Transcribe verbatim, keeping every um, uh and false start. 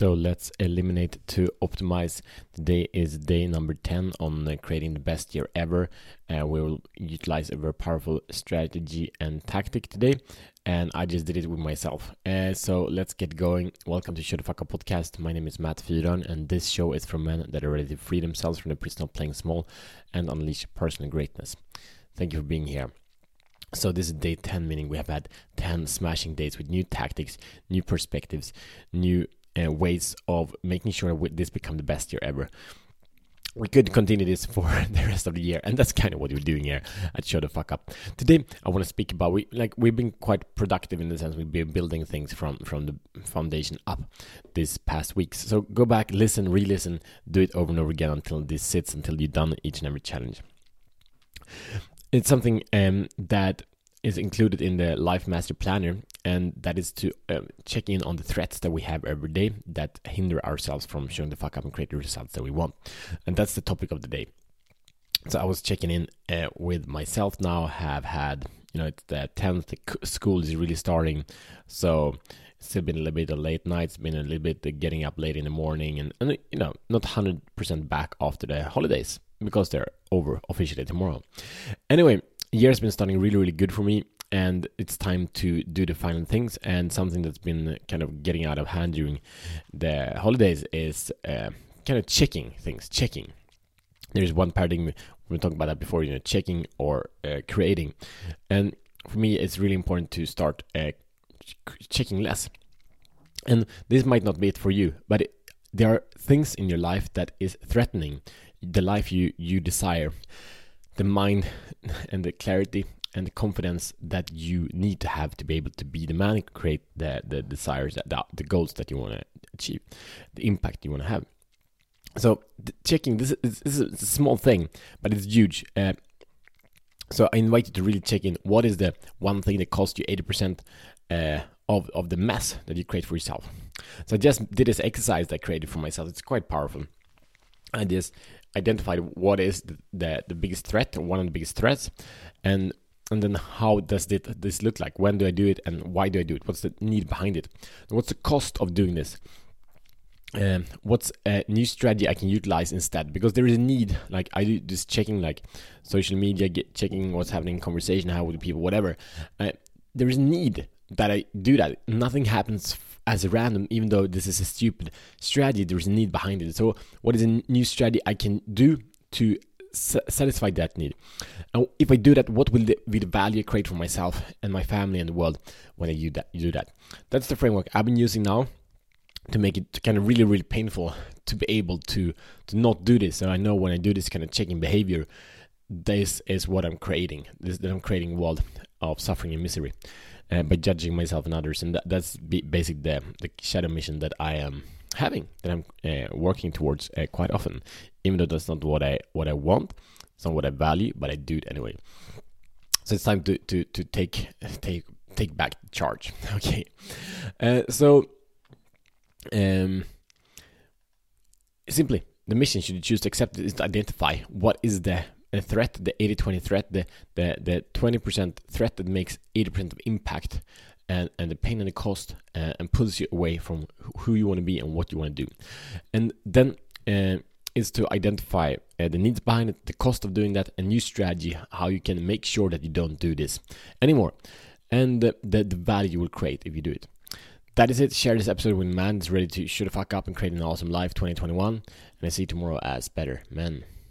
So let's eliminate to optimize. Today is day number ten on uh, creating the best year ever. Uh, we will utilize a very powerful strategy and tactic today, and I just did it with myself. Uh, so let's get going. Welcome to Shut the Fuck Up podcast. My name is Matt Fyron, and this show is for men that are ready to free themselves from the prison of playing small and unleash personal greatness. Thank you for being here. So this is day ten, meaning we have had ten smashing days with new tactics, new perspectives, new Uh, ways of making sure that this become the best year ever. We could continue this for the rest of the year, and that's kind of what we're doing here at Shut the Fuck Up. Today, I want to speak about we like we've been quite productive in the sense we've been building things from from the foundation up this past weeks. So go back, listen, re-listen, do it over and over again until this sits, until you've done each and every challenge. It's something um, that is included in the Life Master Planner, and that is to um, check in on the threats that we have every day that hinder ourselves from showing the fuck up and create the results that we want. And that's the topic of the day. So I was checking in uh, with myself now, have had, you know, it's the tenth, the school is really starting, so it's still been a little bit of late nights, been a little bit uh, getting up late in the morning, and, and you know, not one hundred percent back after the holidays, because they're over officially tomorrow. Anyway, year's been starting really, really good for me, and it's time to do the final things. And something that's been kind of getting out of hand during the holidays is uh, kind of checking things, checking. There's one paradigm, we were talking about that before, you know, checking or uh, creating. And for me, it's really important to start uh, checking less. And this might not be it for you, but it, there are things in your life that is threatening the life you, you desire. The mind and the clarity and the confidence that you need to have to be able to be the man and create the, the desires, the, the goals that you want to achieve, the impact you want to have. So checking, this is, this is a small thing, but it's huge. Uh, so I invite you to really check in. What is the one thing that costs you eighty percent uh, of, of the mess that you create for yourself? So I just did this exercise that I created for myself. It's quite powerful. I just identified what is the, the, the biggest threat, or one of the biggest threats, and and then how does it, this look like? When do I do it, and why do I do it? What's the need behind it? What's the cost of doing this? Um, what's a new strategy I can utilize instead? Because there is a need, like I do this checking, like social media, get, checking what's happening in conversation, how with people, whatever. Uh, there is a need that I do that. Nothing happens as a random, even though this is a stupid strategy, there's a need behind it. So what is a new strategy I can do to s- satisfy that need? And if I do that, what will the, be the value I create for myself and my family and the world when I do that? You do that. That's the framework I've been using now to make it kind of really, really painful to be able to, to not do this. And I know when I do this kind of checking behavior, this is what I'm creating. This that I'm creating a world of suffering and misery. Uh, by judging myself and others, and that, that's b- basically the, the shadow mission that I am having, that I'm uh, working towards uh, quite often, even though that's not what I what I want, it's not what I value, but I do it anyway. So it's time to to to take take take back charge. Okay, uh, so um, simply the mission should you choose to accept is to identify what is the a threat, the eighty twenty threat, the, the, the twenty percent threat that makes eighty percent of impact, and, and the pain and the cost, uh, and pulls you away from who you want to be and what you want to do. And then uh, is to identify uh, the needs behind it, the cost of doing that, a new strategy, how you can make sure that you don't do this anymore, and the, the, the value you will create if you do it. That is it. Share this episode with man that's ready to shut the fuck up and create an awesome life twenty twenty-one, and I see you tomorrow as better men.